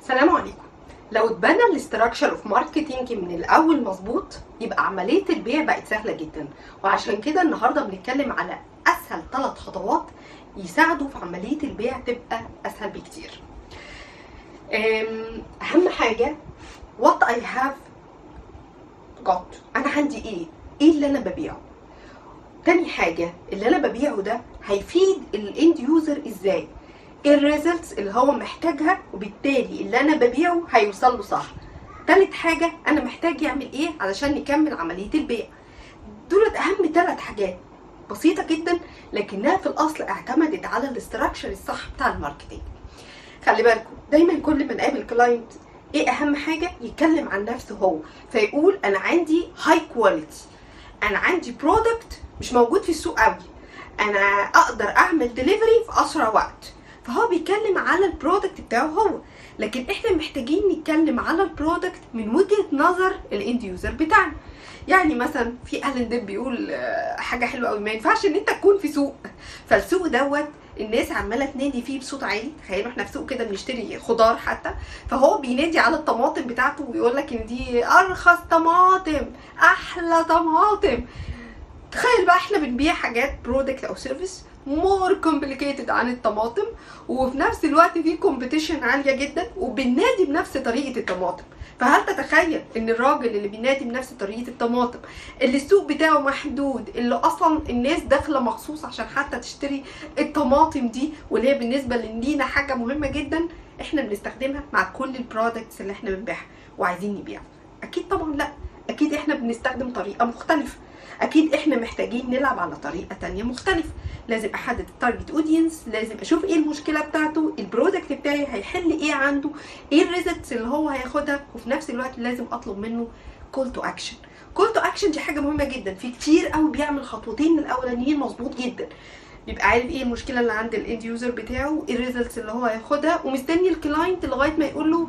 السلام عليكم. لو اتبنى الاستراكشر اوف ماركتنج من الاول مظبوط يبقى عمليه البيع بقت سهله جدا، وعشان كده النهارده بنتكلم على اسهل 3 خطوات يساعدوا في عمليه البيع تبقى اسهل بكتير. اهم حاجه what I have got، انا عندي ايه اللي انا ببيعه. تاني حاجه اللي انا ببيعه ده هيفيد الاند يوزر ازاي، الريزلتس اللي هو محتاجها، وبالتالي اللي انا ببيعه هيوصل له صح. تالت حاجه انا محتاج يعمل ايه علشان نكمل عمليه البيع. دولت اهم 3 حاجات بسيطه جدا، لكنها في الاصل اعتمدت على الاستراكشر الصح بتاع الماركتنج. خلي بالكم دايما كل ما نقابل كلاينت ايه اهم حاجه يتكلم عن نفسه هو، فيقول انا عندي هاي كواليتي، انا عندي برودكت مش موجود في السوق قوي، انا اقدر اعمل ديليفري في اسرع وقت. فهو بيتكلم على البرودكت بتاعه هو، لكن احنا محتاجين نتكلم على البرودكت من وجهة نظر الاند يوزر بتاعنا. يعني مثلا في ألين ديب بيقول حاجة حلوة قوي، ما ينفعش ان انت تكون في سوق، فالسوق دوت الناس عماله تنادي فيه بصوت عالي. تخيلوا احنا في سوق كده بنشتري خضار حتى، فهو بينادي على الطماطم بتاعته ويقول لك ان دي ارخص طماطم، احلى طماطم. تخيل بقى احنا بنبيع حاجات برودكت او سيرفيس مور كومبليكيتد عن الطماطم، وفي نفس الوقت في كومبيتيشن عاليه جدا، وبننادي بنفس طريقه الطماطم. فهل تتخيل ان الراجل اللي بينادي بنفس طريقه الطماطم اللي السوق بتاعه محدود، اللي اصلا الناس داخله مخصوص عشان حتى تشتري الطماطم دي، واللي هي بالنسبه لينا حاجه مهمه جدا، احنا بنستخدمها مع كل البرودكتس اللي احنا بنبيعها وعايزين نبيعها؟ اكيد طبعا لا، اكيد احنا بنستخدم طريقه مختلفه، اكيد احنا محتاجين نلعب على طريقه تانية مختلفه. لازم احدد التارجت اودينس، لازم اشوف ايه المشكله بتاعته، البرودكت بتاعي هيحل ايه عنده، ايه الريزلتس اللي هو هياخدها، وفي نفس الوقت لازم اطلب منه كول تو اكشن. كول تو اكشن دي حاجه مهمه جدا، في كتير قوي بيعمل خطوتين الاولانيين مظبوط جدا، بيبقى عارف ايه المشكله اللي عند الاند يوزر بتاعه، ايه الريزلتس اللي هو هياخدها، ومستني الكلاينت لغايه ما يقول له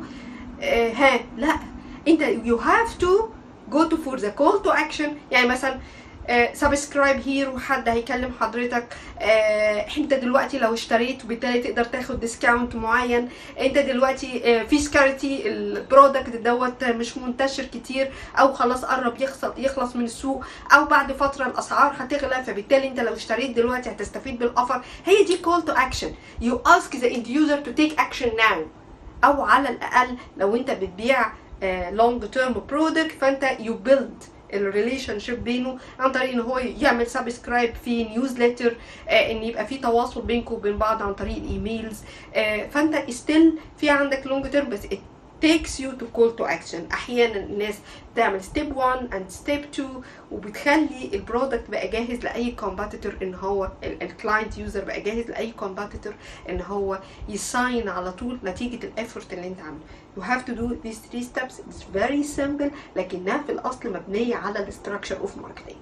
لا انت you have to go to for the call to action. يعني مثلا سبسكرايب هير وحد هيكلم حضرتك، انت دلوقتي لو اشتريت وبالتالي تقدر تاخد ديسكاونت معين، انت دلوقتي في سكارتي البرودكت دوت مش منتشر كتير، او خلاص قرب يخلص من السوق، او بعد فتره الاسعار هتغلى، فبالتالي انت لو اشتريت دلوقتي هتستفيد بالاوفر. هي دي call to action. you ask the end user to take action now، او على الاقل لو انت بتبيع long term product فانت you build الريليشن شيب بينه عن طريق ان هو يعمل سبسكرايب في نيوزليتر، ان يبقى في تواصل بينكم وبين بعض عن طريق الايميلز. فانت ستيل في عندك لونج تيرم، بس it takes you to call to action. احيانا الناس تعمل ستيب 1 and ستيب 2 وبتخلي البرودكت بقى جاهز لاي كومبيتيتور، ان هو الكلاينت يوزر بقى جاهز لاي كومبيتيتور ان هو يساين على طول نتيجه الافورت اللي انت عامله. You have to do these 3 steps. It's very simple، لكنها في الاصل مبنيه على الاستراكشر اوف ماركتنج.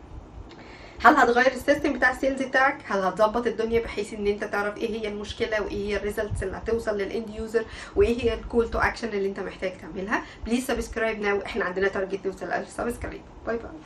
هل هتغير السيستم بتاع السيلز بتاعك؟ هل هتظبط الدنيا بحيث ان انت تعرف ايه هي المشكله، وايه هي الريزلتس اللي هتوصل للاند يوزر، وايه هي الكول تو اكشن اللي انت محتاج تعملها؟ بليز سبسكرايب ناو، احنا عندنا تارجت نوصل 1000 سبسكرايب. باي باي.